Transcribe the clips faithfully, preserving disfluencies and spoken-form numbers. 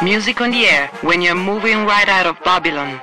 Music on the air when you're moving right out of Babylon.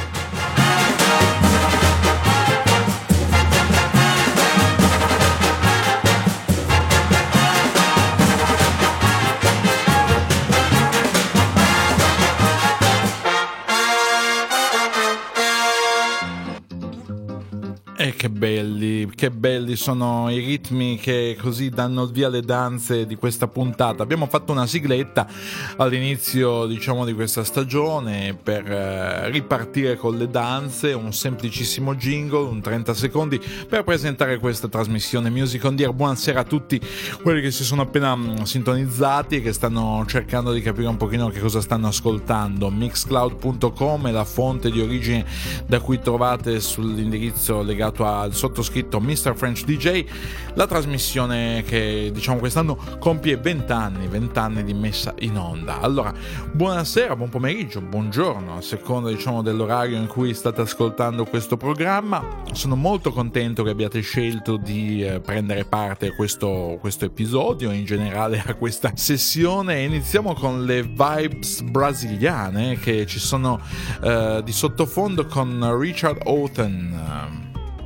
E che belli, che belli sono i ritmi che così danno il via alle danze di questa puntata. Abbiamo fatto una sigletta all'inizio, diciamo, di questa stagione per eh, ripartire con le danze, un semplicissimo jingle, un trenta secondi per presentare questa trasmissione Music on the Air. Buonasera a tutti quelli che si sono appena mh, sintonizzati e che stanno cercando di capire un pochino che cosa stanno ascoltando. Mixcloud punto com è la fonte di origine da cui trovate sull'indirizzo legato al sottoscritto mister French D J la trasmissione che, diciamo, quest'anno compie venti anni venti anni di messa in onda. Allora, buonasera, buon pomeriggio, buongiorno, a seconda, diciamo, dell'orario in cui state ascoltando questo programma. Sono molto contento che abbiate scelto di eh, prendere parte a questo, questo episodio, in generale a questa sessione. Iniziamo con le vibes brasiliane che ci sono eh, di sottofondo con Richard Hawtin.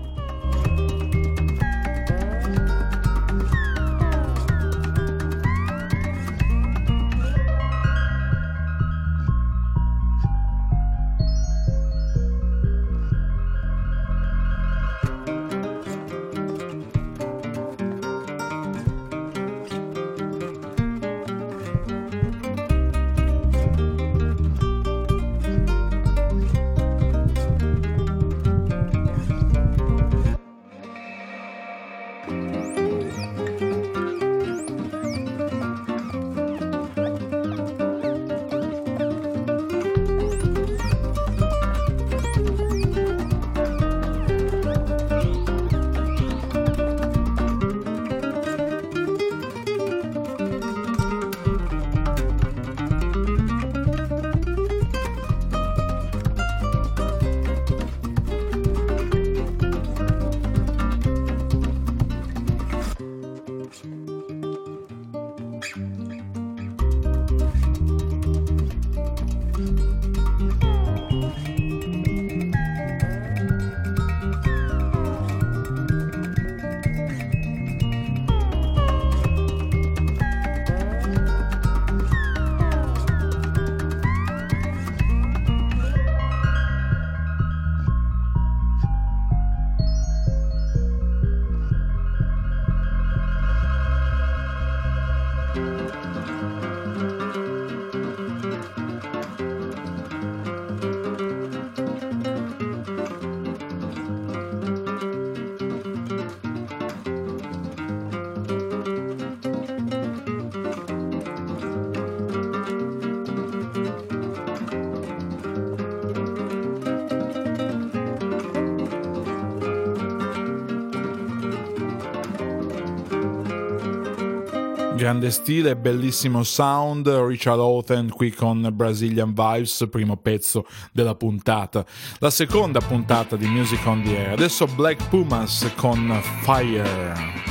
Grande stile, bellissimo sound, Richard Hawtin qui con Brazilian Vibes, primo pezzo della puntata, la seconda puntata di Music on the Air. Adesso Black Pumas con Fire.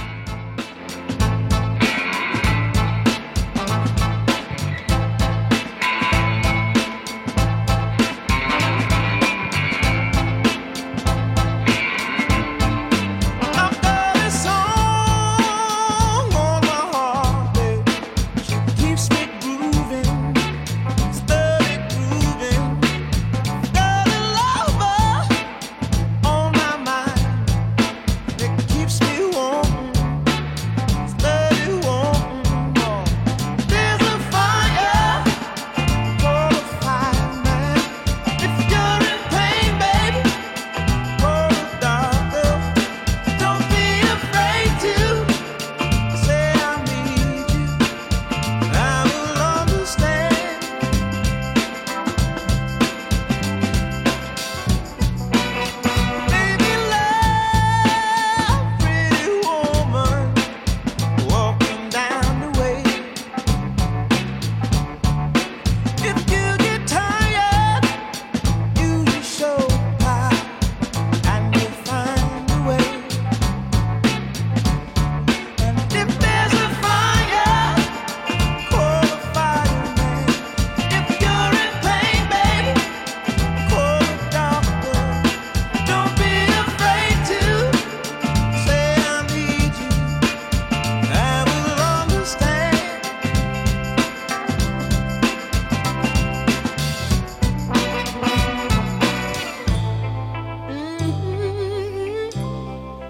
Keeps me warm.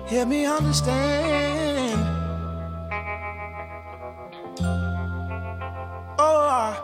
Help me understand. Oh, I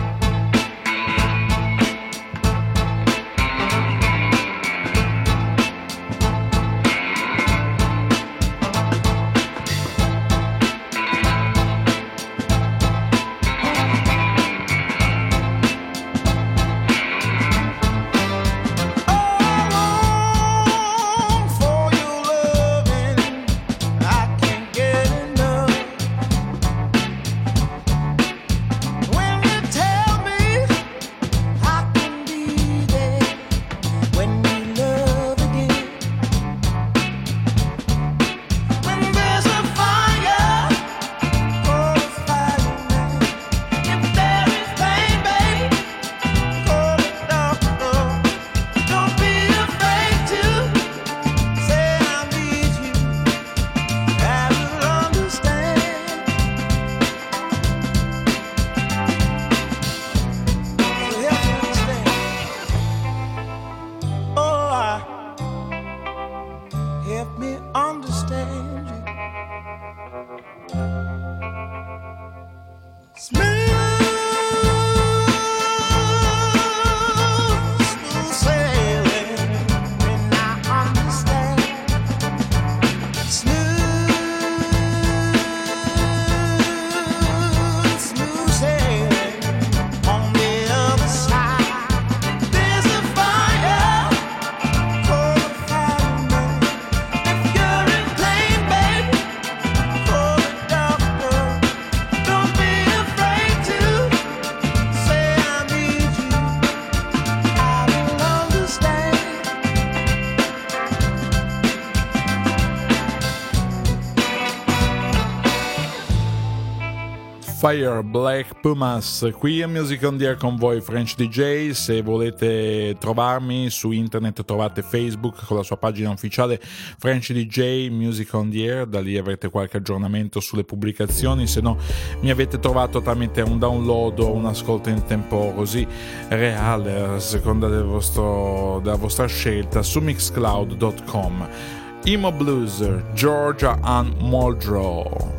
Fire, Black Pumas, qui a Music on the Air con voi French D J. Se volete trovarmi su internet trovate Facebook con la sua pagina ufficiale French D J Music on the Air, da lì avrete qualche aggiornamento sulle pubblicazioni, se no mi avete trovato tramite un download o un ascolto in tempo così reale a seconda del vostro, della vostra scelta su mixcloud dot com. Emo Blues, Georgia Ann Muldrow.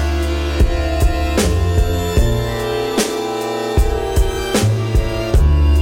I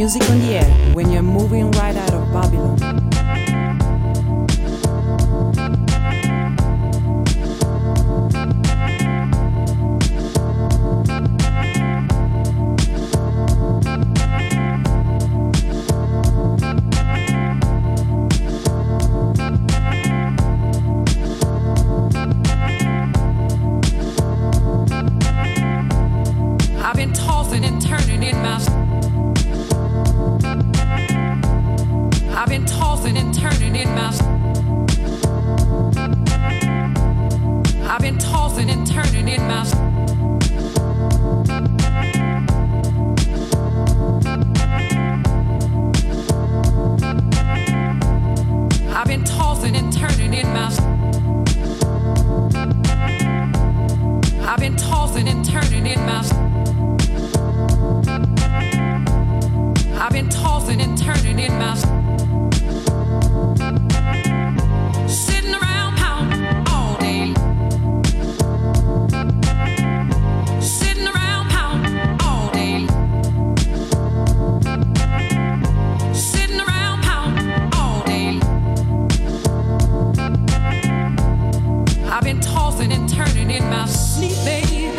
Music on the air when you're moving right out of Babylon. I've been tossing and turning in my I've been tossing and turning in my I've been tossing and turning in my I've been tossing and turning in my I've been tossing and turning in my I've been tossing and turning in my sitting around pound all day. Sitting around pound all day. Sitting around pound all day. I've been tossing and turning in my sleep, babe.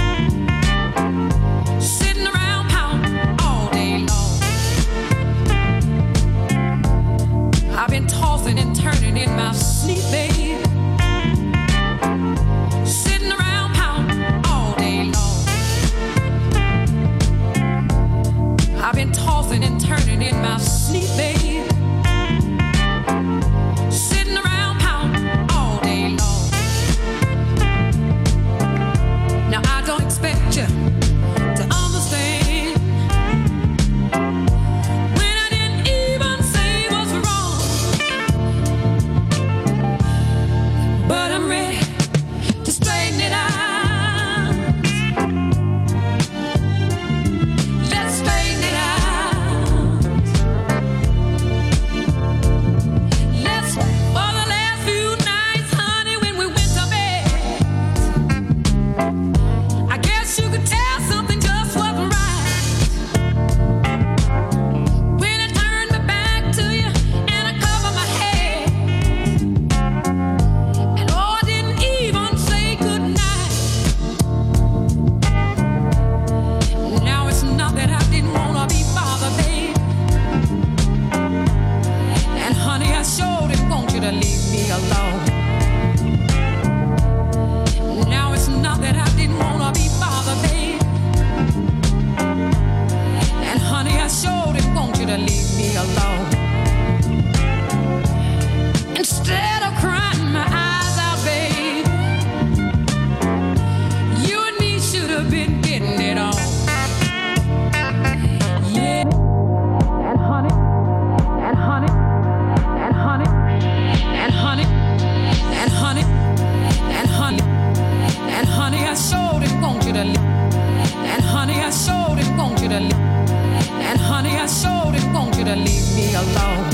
Sitting around pound all day long. I've been tossing and turning in my sleep, babe. Sitting around pound all day long. I've been tossing and turning in my sleep, babe. Sitting around pound all day long. Now I don't expect you to understand when I didn't even say what's wrong. But I'm ready to straighten it out. Let's straighten it out. Let's, for the last few nights, honey, when we went to bed, I guess you could tell something just wasn't right. When I turned my back to you and I covered my head, and oh, I didn't even say goodnight. Now it's not that I didn't wanna be bothered, babe. And honey, I sure didn't want you to leave me alone. Now it's not that I didn't wanna be bothered, babe. And honey, I sure didn't want you to leave me alone. Instead of crying my eyes out, babe, you and me should have been getting it on. Yeah. And honey, and honey, and honey, and honey, and honey, and honey, and honey, I sure didn't want you to leave. And honey, I sure didn't want you to leave. And honey, I sure didn't want you to leave me alone.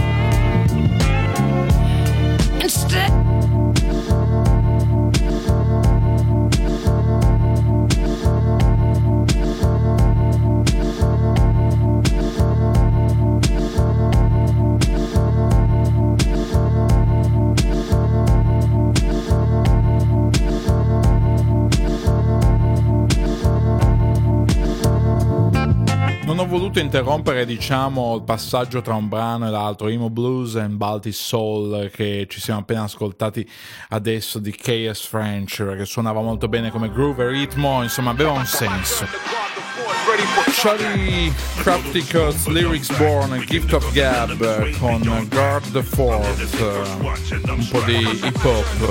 Instead. Non ho voluto interrompere, diciamo, il passaggio tra un brano e l'altro, Emo Blues and Baltic Soul, che ci siamo appena ascoltati adesso, di K S French, che suonava molto bene come groove e ritmo, insomma aveva un senso. Charlie Crafticus, Lyrics Born, Gift of Gab con Guard the Fort, un po' di hip hop.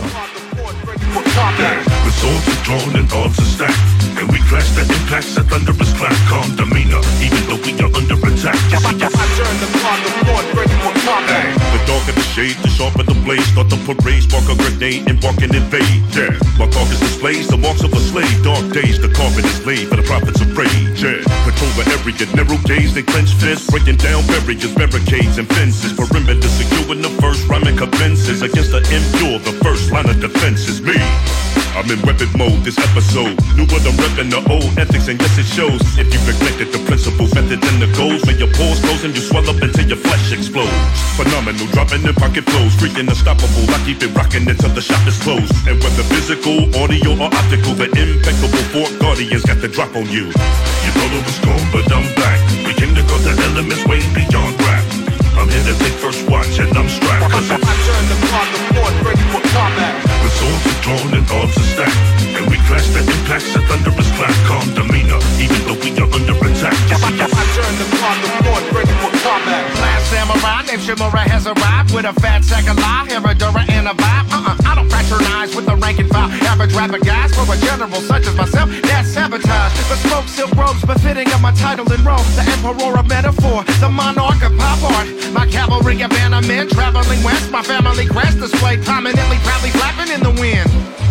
The swords are drawn and arms are stacked, and we clash the impacts, a thunderous clap, calm demeanor, even though we are under attack. You see, I turn the clock upon, ready for combat. The darker the shade, the sharper the blade. Start the parade, spark a grenade, embark and invade. Yeah, my carcass displays the marks of a slave. Dark days, the carpet is laid for the prophets of rage. Yeah, patrol the area, narrow gaze, they clench fists, breaking down barriers, barricades, and fences. Perimeter secure in the first rhyming commences against the impure. The first line of defense is me. I'm in weapon mode this episode. New what I'm repping the old ethics, and yes it shows. If you neglected the principles, methods, and the goals, when your pores close and you swell up until your flesh explodes. Phenomenal, dropping in pocket flows, freaking unstoppable. I keep it rocking until the shop is closed. And whether physical, audio, or optical, the impeccable Fort Guardians got the drop on you. You thought it was gone, but I'm back. We came to go the elements way beyond rap. I'm here to take first watch and I'm strapped. Cause I turn the clock to fort, ready for combat. The swords are drawn and arms are stacked, and we clash the impacts of thunderous clap. Calm demeanor, even though we are under attack. I turn the clock to fort, ready for combat. Last samurai named Shimura has arrived with a fat sack of lie, Herodora and a vibe. Uh-uh, I don't fraternize with the rank and file. Average rapper guys for a general such as myself, that's sabotage. But smoke silk robes befitting of my title in Rome. The emperor of metaphor, the monarch of pop art. My cavalry of bannermen traveling west. My family crest displayed prominently, proudly flapping in the wind.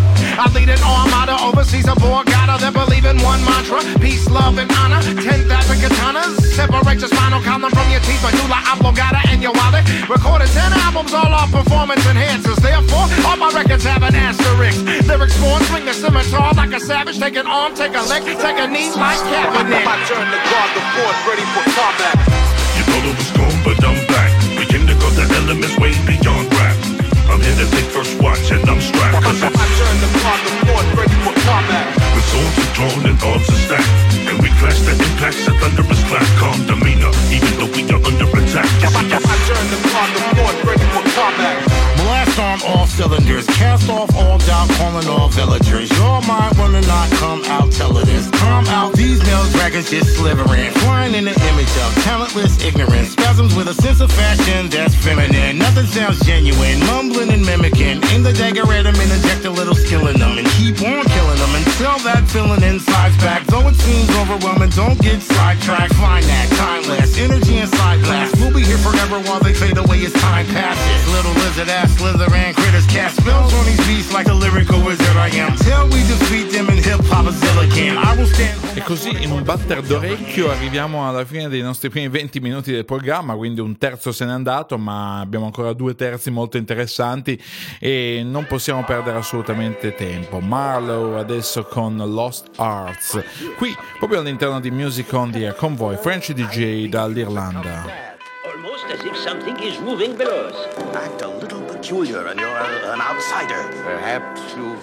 I lead an armada overseas, a Borgata that believe in one mantra: peace, love, and honor. Ten thousand katanas separate your spinal column from your teeth. Medulla oblongata and your wallet. Recorded ten albums, all our performance enhancers. Therefore, all my records have an asterisk. Lyrics born, swing the scimitar like a savage. Take an arm, take a leg, take a knee like Kaepernick. I turn the clock to fort, ready for combat. You thought it was gone, but I'm back. We came to go the elements way beyond rap. I'm here to take first watch and I'm strapped. Cause I turn the clock to fort, ready for combat. The swords are drawn and arms are stacked, and we clash the impacts of thunderous clap. Calm demeanor, even though we are under attack. I turn the clock to fort, ready for combat. Blast on all cylinders, cast off all doubt, calling all villagers. Your mind wanna not come out, tell it is. Come out, these nail dragons just slithering, flying in the image of talentless ignorance. Spasms with a sense of fashion that's feminine. Nothing sounds genuine, mumbling and mimicking. Aim the dagger at them and inject a little skill in them, and keep on killing them until that feeling inside's back. Though it seems overwhelming, don't get sidetracked. Find that timeless energy inside blast. We'll be here forever while they fade away as time passes. Little lizard ass slither and critters cast spells on these beats like a lyrical wizard I am. Till we defeat them in hip hop can. I will stand. E così in un batter d'orecchio arriviamo alla fine dei nostri primi venti minuti del programma, quindi un terzo se n'è andato, ma abbiamo ancora due terzi molto interessanti e non possiamo perdere assolutamente tempo. Marlowe adesso con Lost Arts, qui proprio all'interno di Music on the Air Convoy, Frenchy D J dall'Irlanda. Almost as if something is moving below us. Act a little peculiar and you're uh, an outsider. Perhaps you've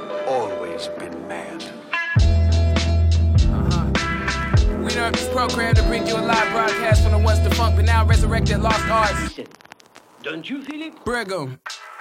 always been mad. Uh-huh. We interrupt this program to bring you a live broadcast from the once defunct but now resurrected Lost Arts. Don't you feel it? Brigham.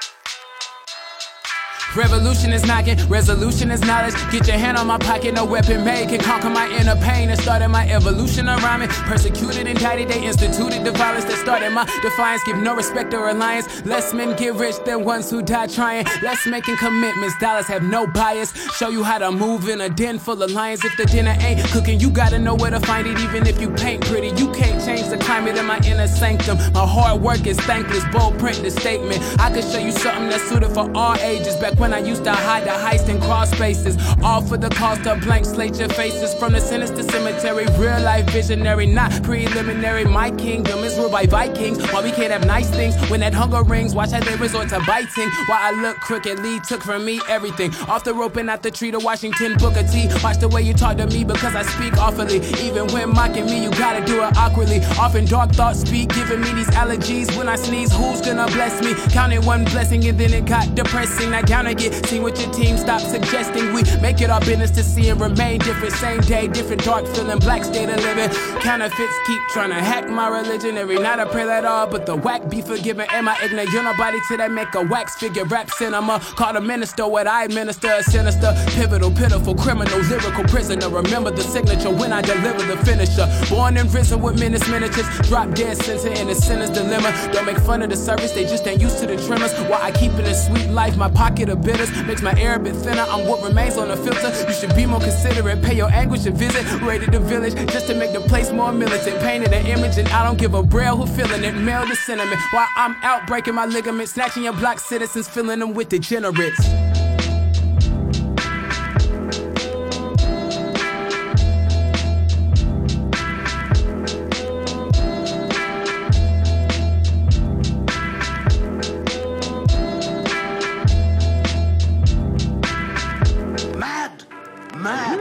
Revolution is knocking, resolution is knowledge. Get your hand on my pocket, no weapon made can conquer my inner pain and started my evolution of rhyming. Persecuted, indicted, they instituted the violence that started my defiance. Give no respect or alliance. Less men get rich than ones who die trying. Less making commitments, dollars have no bias. Show you how to move in a den full of lions. If the dinner ain't cooking, you gotta know where to find it. Even if you paint pretty, you can't change the climate in my inner sanctum. My hard work is thankless, bold print the statement. I could show you something that's suited for all ages. Back when I used to hide the heist in cross spaces, all for the cost of blank slate your faces. From the sinister cemetery, real life visionary, not preliminary. My kingdom is ruled by Vikings. Why we can't have nice things when that hunger rings? Watch how they resort to biting. Why I look crooked, Lee took from me everything. Off the rope and out the tree to Washington Booker T. Watch the way you talk to me because I speak awfully. Even when mocking me, you gotta do it awkwardly. Often dark thoughts speak, giving me these allergies. When I sneeze, who's gonna bless me? Counted one blessing and then it got depressing. Now down again, see what your team stop suggesting. We make it our business to see and remain different. Same day, different dark feeling, black state of living. Counterfeits keep trying to hack my religion. Every night I pray that all, but the whack be forgiven. Am I ignorant? You're nobody till they make a wax figure. Rap cinema, call a minister what I administer. A sinister, pivotal, pitiful, criminal, lyrical prisoner. Remember the signature when I deliver the finisher. Born and risen with menace miniatures. Drop dead center in the sinner's dilemma. Don't make fun of the service, they just ain't used to the tremors. While I keep it a sweet life, my pocket of bitters makes my air a bit thinner. I'm what remains on the filter. You should be more considerate. Pay your anguish a visit. Raided the village just to make the place more militant. Painted an image and I don't give a braille who feeling it. Mail the sentiment while I'm out breaking my ligaments. Snatching your black citizens, filling them with degenerates.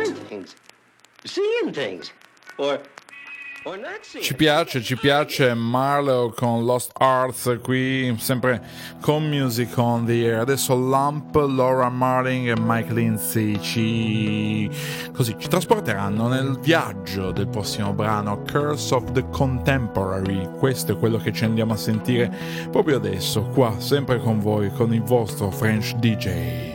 doing things, seeing things, or or not seeing. Ci piace, ci piace Marlowe con Lost Arts, qui sempre con Music on the Air. Adesso Lump, Laura Marling e Mike Lindsay ci così ci trasporteranno nel viaggio del prossimo brano, Curse of the Contemporary. Questo è quello che ci andiamo a sentire proprio adesso, qua sempre con voi, con il vostro French D J.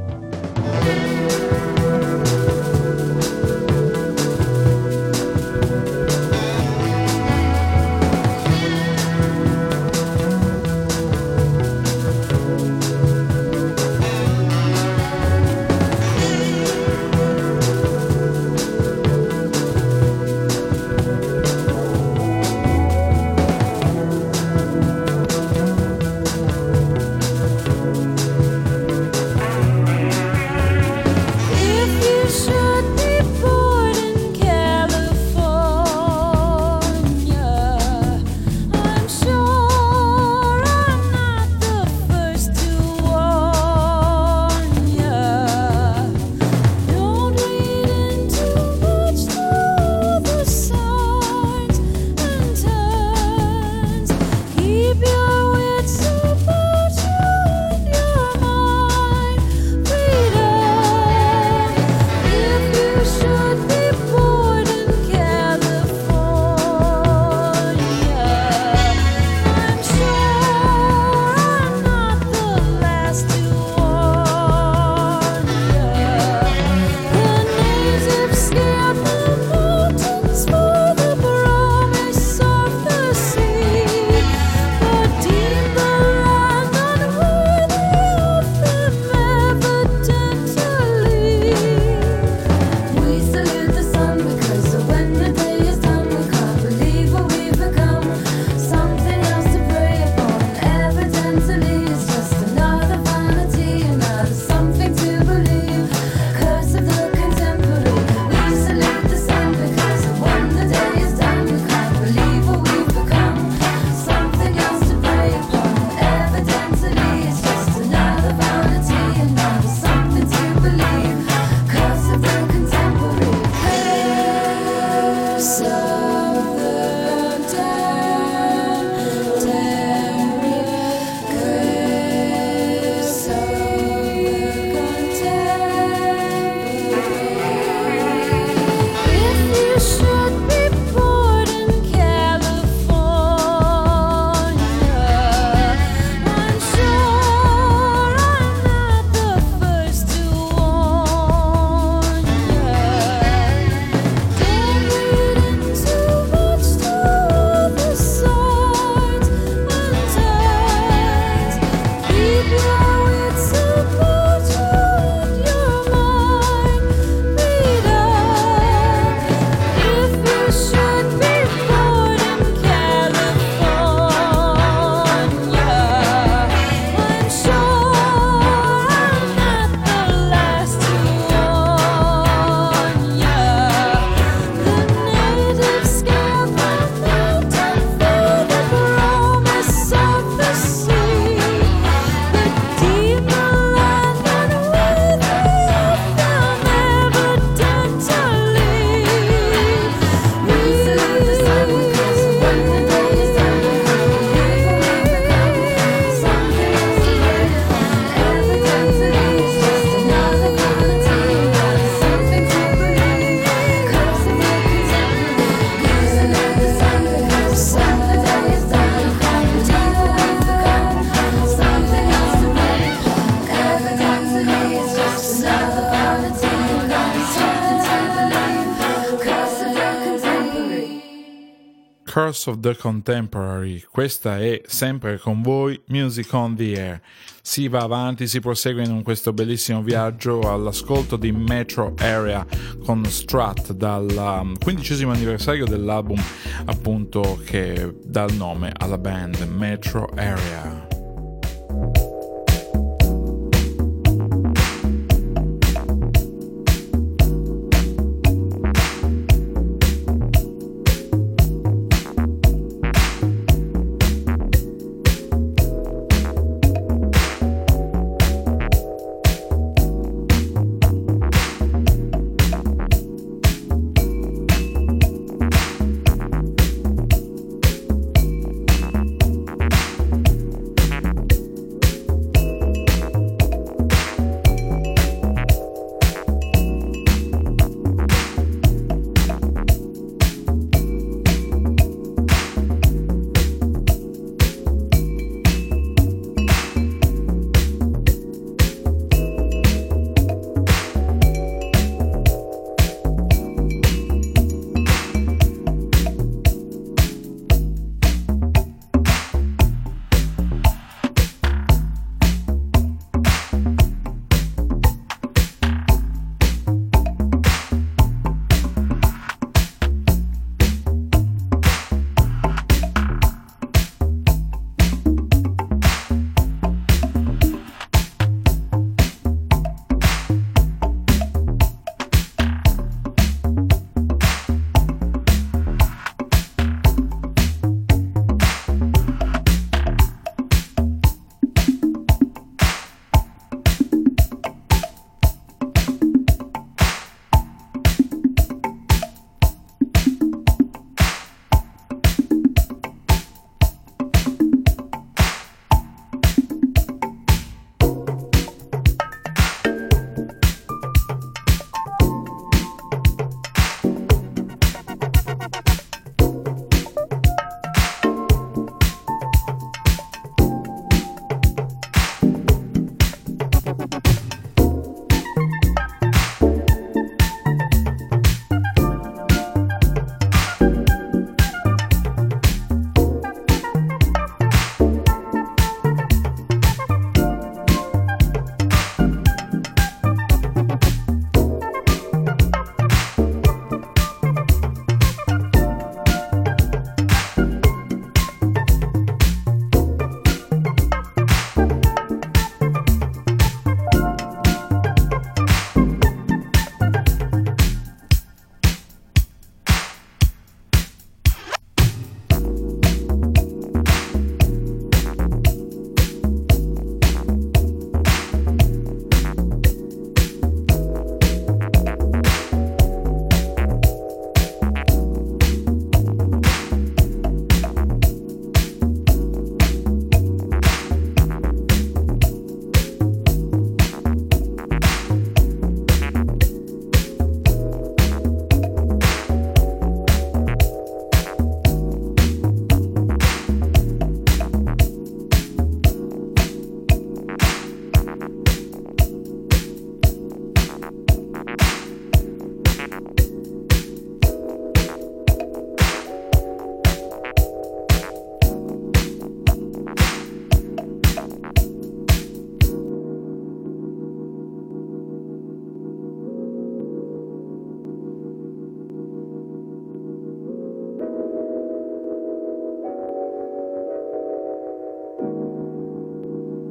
Curse of the Contemporary. Questa è sempre con voi Music on the Air. Si va avanti, si prosegue in questo bellissimo viaggio all'ascolto di Metro Area con Strat dal quindicesimo anniversario dell'album appunto che dà il nome alla band, Metro Area.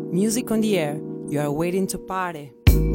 Music on the air. You are waiting to party.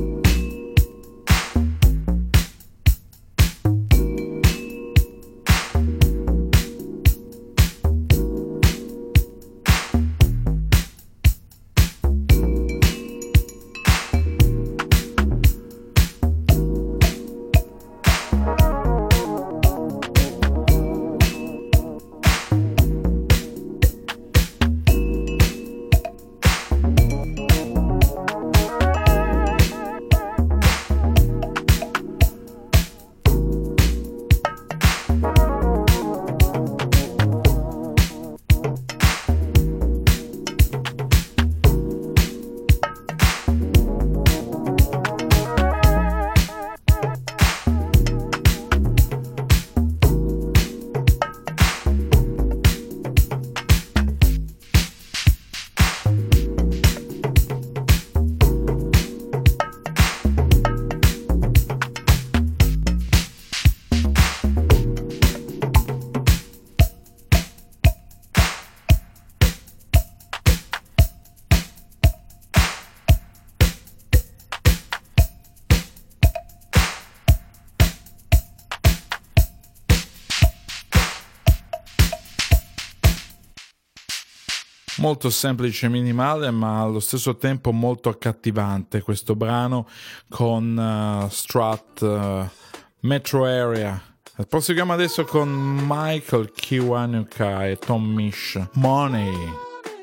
Molto semplice e minimale, ma allo stesso tempo molto accattivante questo brano con uh, Strut, uh, Metro Area. Proseguiamo adesso con Michael Kiwanuka e Tom Misch, Money.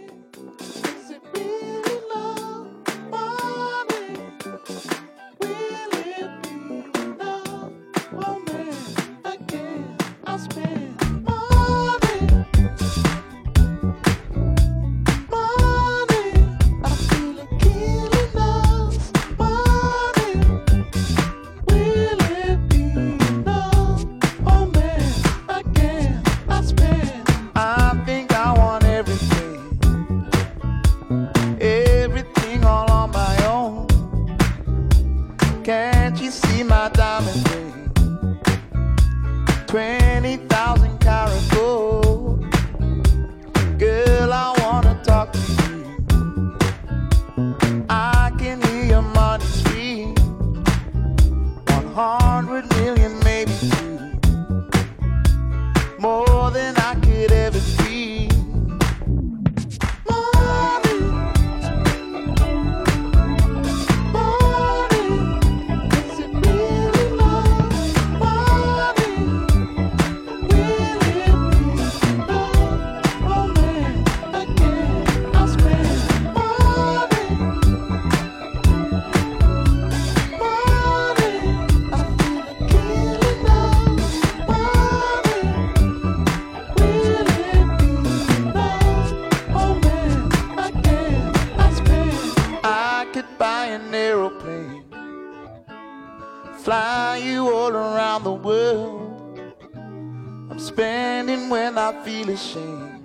Fly you all around the world. I'm spending when I feel ashamed.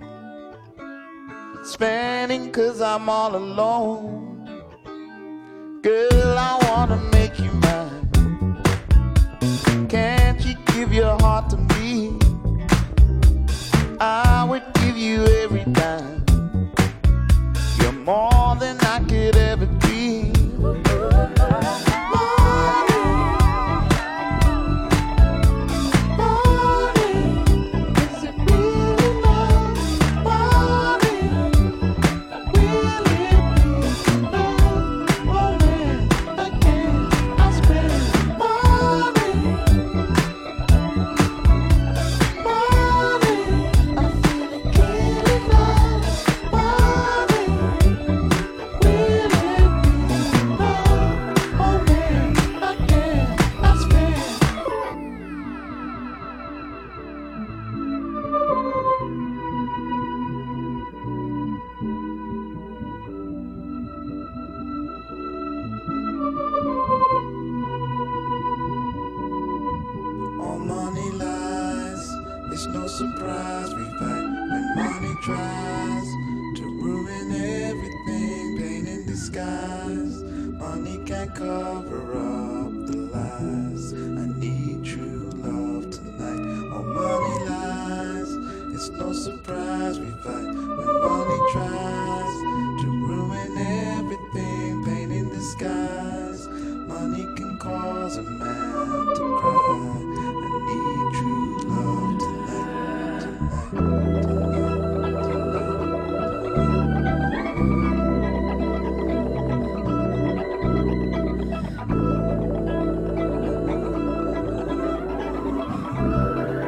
Spending cause I'm all alone. Girl, I wanna make you mine. Can't you give your heart to me? I would give you every dime. You're more than I could ever dream. Surprise, we fight when money tries to ruin everything, pain in disguise. Money can't cover up the lies. I need true love tonight. Oh, money lies. It's no surprise we fight when money tries to ruin everything.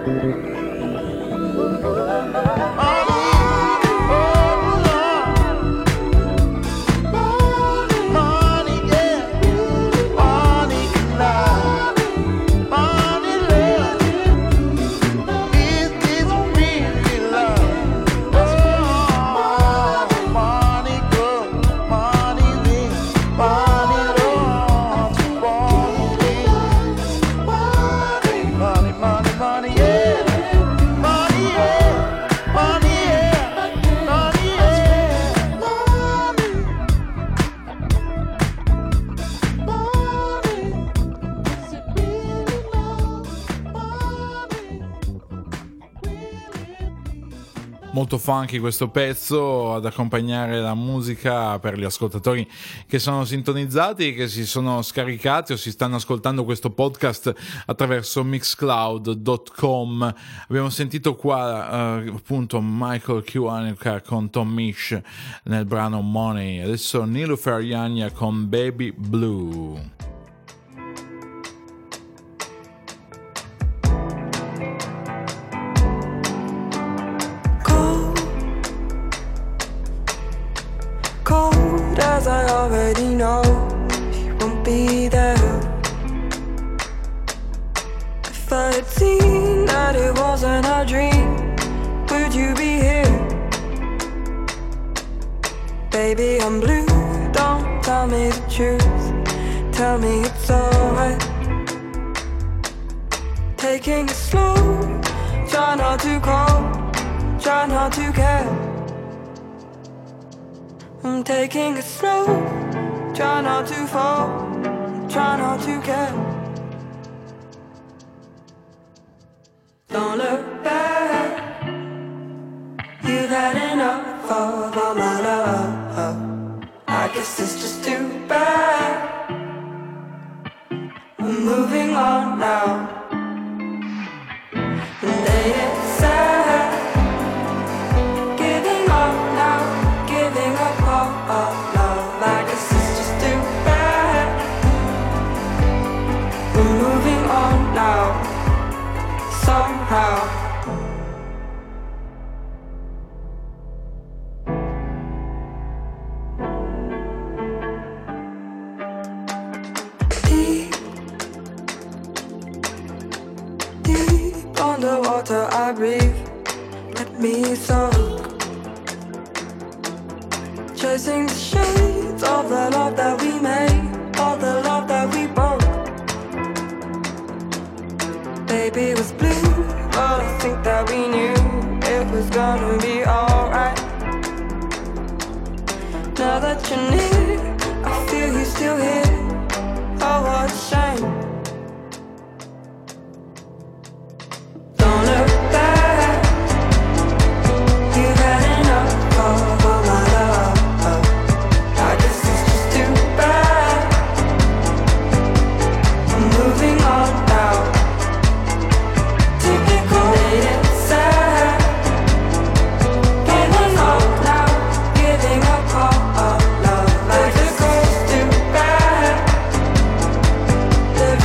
Molto funky questo pezzo ad accompagnare la musica per gli ascoltatori che sono sintonizzati, che si sono scaricati o si stanno ascoltando questo podcast attraverso mixcloud punto com. Abbiamo sentito qua uh, appunto Michael Kiwanuka con Tom Misch nel brano Money, adesso Niloufer Yanya con Baby Blue. As I already know, you won't be there. If I had seen that it wasn't a dream, would you be here? Baby, I'm blue, don't tell me the truth. Tell me it's alright. Taking it slow, try not to call, try not to care. I'm taking it slow, try not to fall, try not to care. Don't look back, you've had enough of all my love. I guess it's just too bad, I'm moving on now. And they get sad, giving up now, giving up. Oh, oh, love, I guess it's just too bad. We're moving on now, somehow. Deep, deep underwater I breathe, let me soak. Chasing the shades of the love that we made, of the love that we broke. Baby, it was blue, but I think that we knew it was gonna be alright. Now that you're near, I feel you still here. Oh, what a shame. Don't look back, you've had enough of all my love. Moving on now. Typical lady sad, giving up now, giving up all, all love. Like this goes too bad.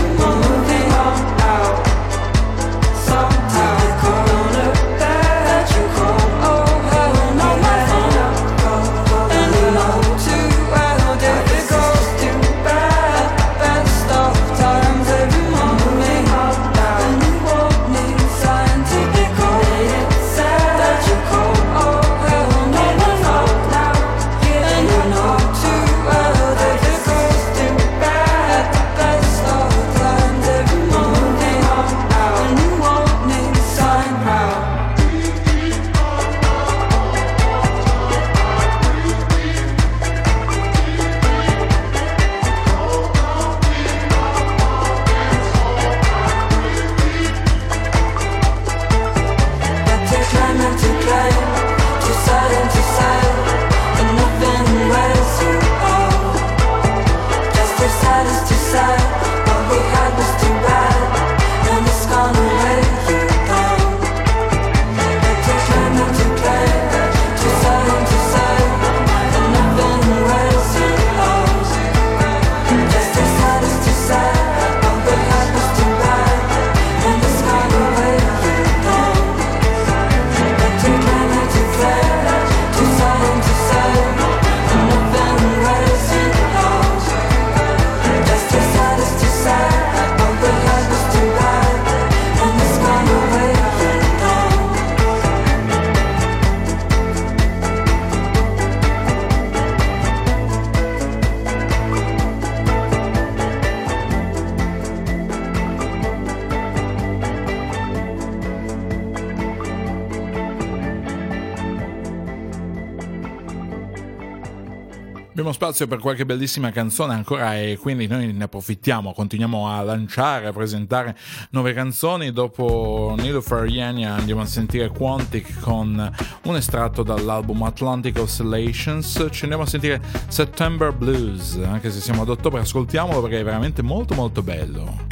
Abbiamo spazio per qualche bellissima canzone ancora e quindi noi ne approfittiamo, continuiamo a lanciare, a presentare nuove canzoni. Dopo Niloufar Yanya andiamo a sentire Quantic con un estratto dall'album Atlantic Oscillations, ci andiamo a sentire September Blues, anche se siamo ad ottobre, ascoltiamolo perché è veramente molto molto bello.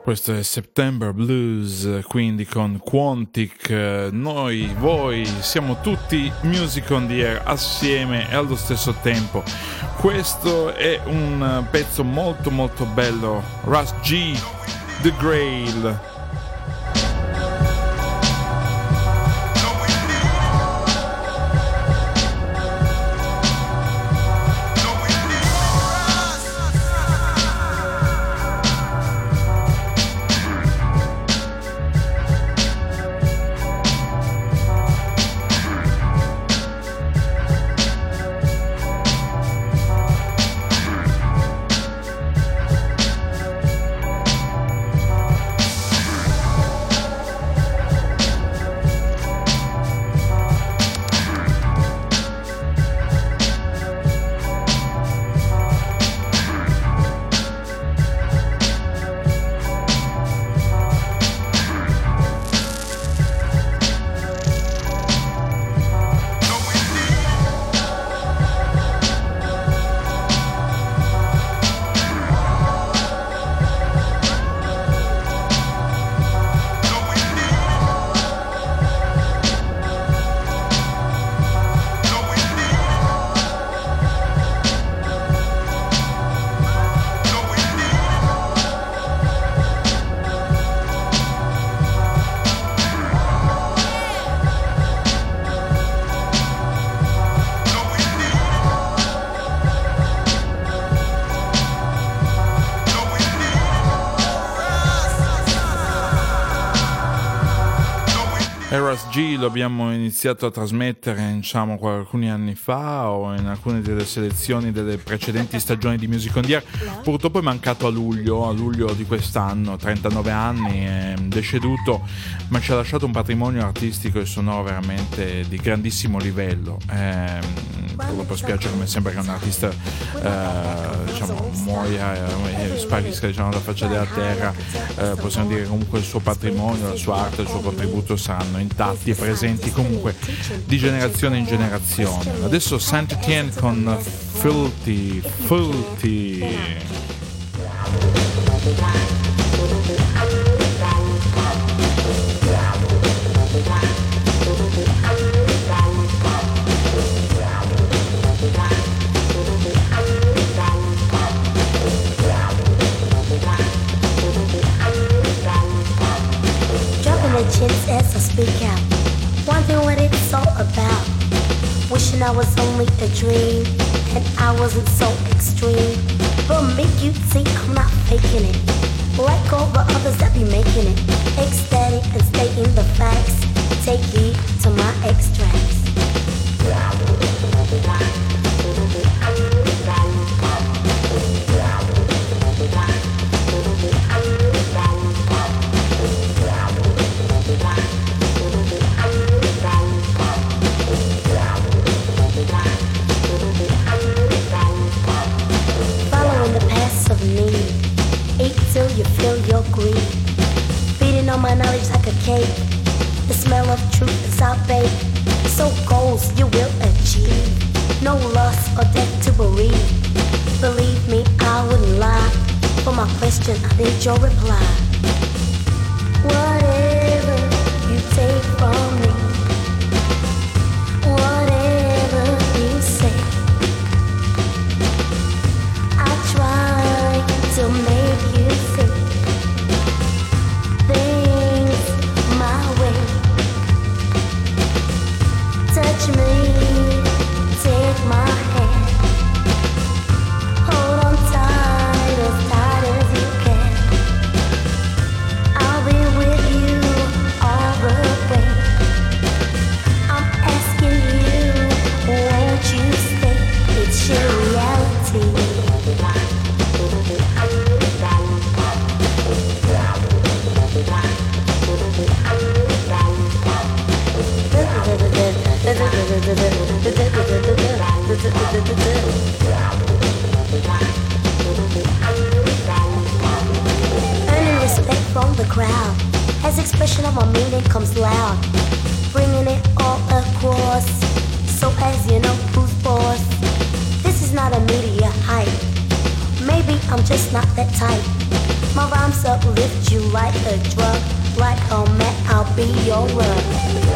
Questo è September Blues, quindi con Quantic. Noi, voi, siamo tutti Music on the Air assieme e allo stesso tempo. Questo è un pezzo molto molto bello, Russ G, The Grail. Russ G lo abbiamo iniziato a trasmettere, diciamo, alcuni anni fa o in alcune delle selezioni delle precedenti stagioni di Music on the Air. Purtroppo è mancato a luglio, a luglio di quest'anno, trentanove anni, è deceduto, ma ci ha lasciato un patrimonio artistico e sonoro veramente di grandissimo livello. Eh, purtroppo spiace, come sembra che un artista eh, diciamo muoia e sparisca, diciamo, dalla faccia della terra. Eh, possiamo dire che comunque il suo patrimonio, la sua arte, il suo contributo saranno intatti e presenti comunque di generazione in generazione. Adesso Saint Etienne con Filthy Filthy. Chins as I speak out, wondering what it's all about. Wishing I was only a dream and I wasn't so extreme. But make you see I'm not faking it, like all the others that be making it. Ecstatic and stating the facts. Take heed to my extracts. Till you feel your greed, feeding on my knowledge like a cake. The smell of truth is our bait. So goals you will achieve. No loss or death to bereave. Believe me, I wouldn't lie. For my question, I need your reply. Whatever you take from me, whatever you say, I try to make you see things my way. Touch me, take my hand, hold on tight, as tight as you can. I'll be with you all the way. I'm asking you, won't you stay? It's your reality. Earning respect from the crowd, as expression of my meaning comes loud, bringing it all across, so as you know who's boss. This is not a media hype. Maybe I'm just not that type. My rhymes uplift you like a drug. Like a man, I'll be your love.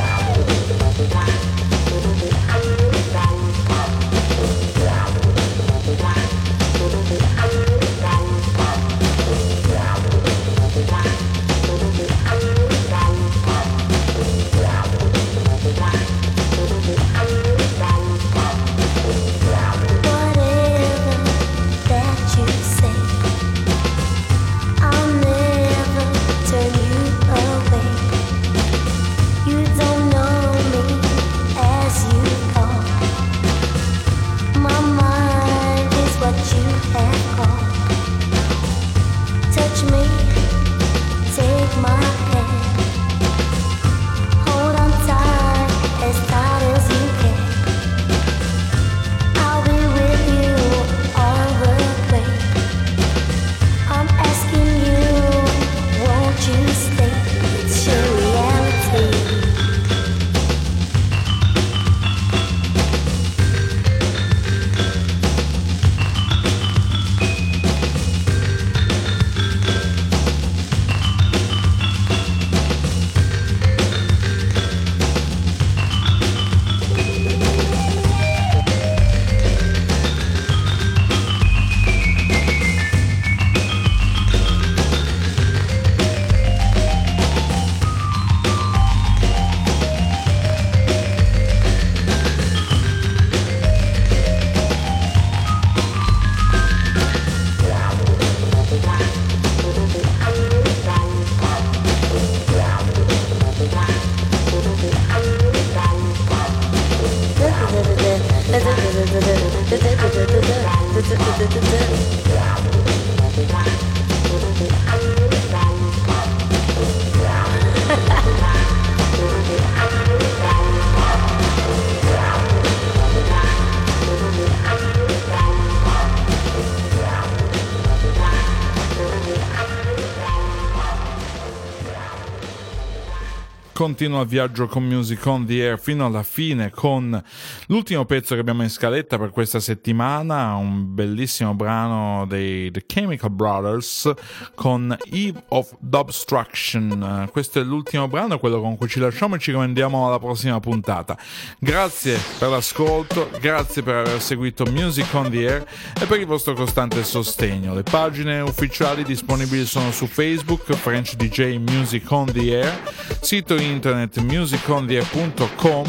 Continua il viaggio con Music on the Air fino alla fine con l'ultimo pezzo che abbiamo in scaletta per questa settimana, un bellissimo brano dei The Chemical Brothers con Eve of Dubstruction. Questo è l'ultimo brano, quello con cui ci lasciamo e ci rimandiamo alla prossima puntata. Grazie per l'ascolto, grazie per aver seguito Music on the Air e per il vostro costante sostegno. Le pagine ufficiali disponibili sono su Facebook, French D J Music on the Air, sito internet music on the air punto com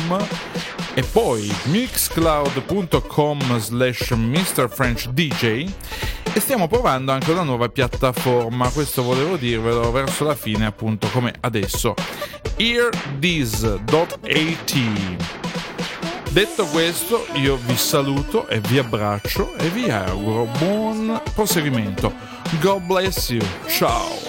e poi mixcloud punto com slash mister french d j, e stiamo provando anche una nuova piattaforma, questo volevo dirvelo verso la fine, appunto come adesso, earthis dot a t. Detto questo, io vi saluto e vi abbraccio e vi auguro buon proseguimento. God bless you, ciao.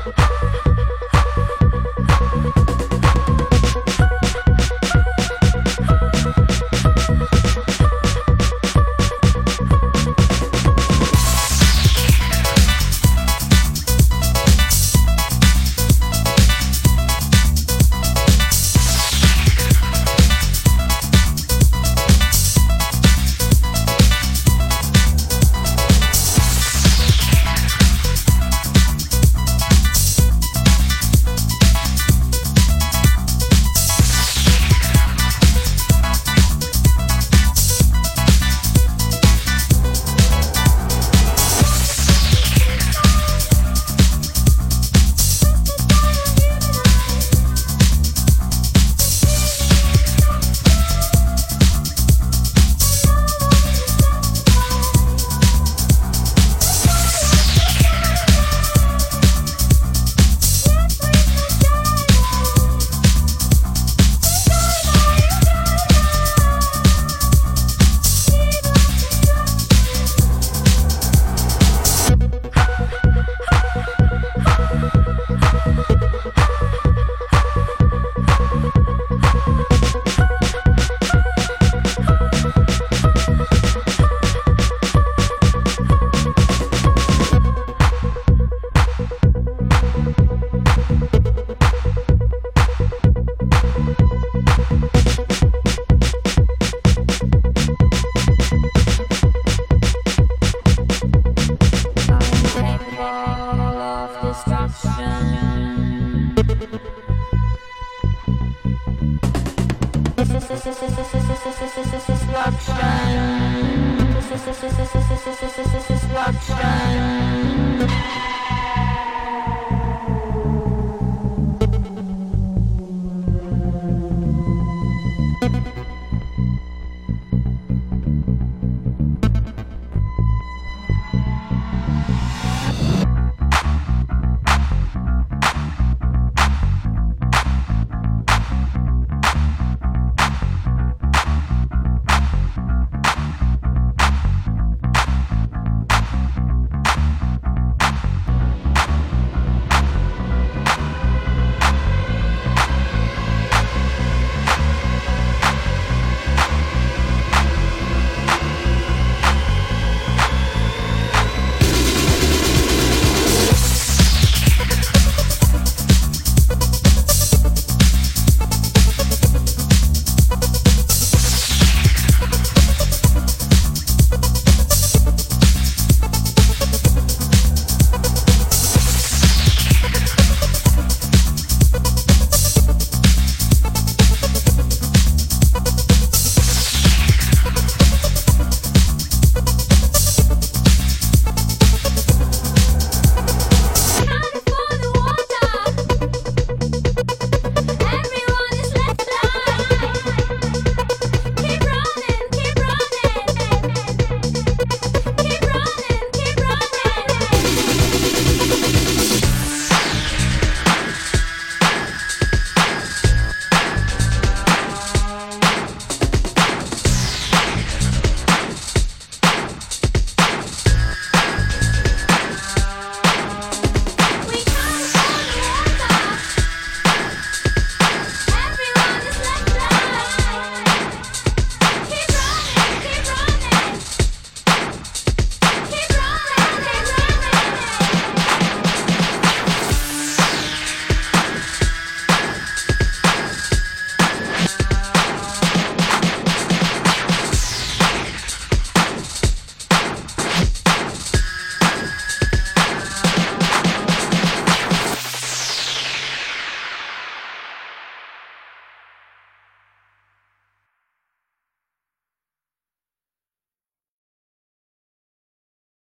Destruction.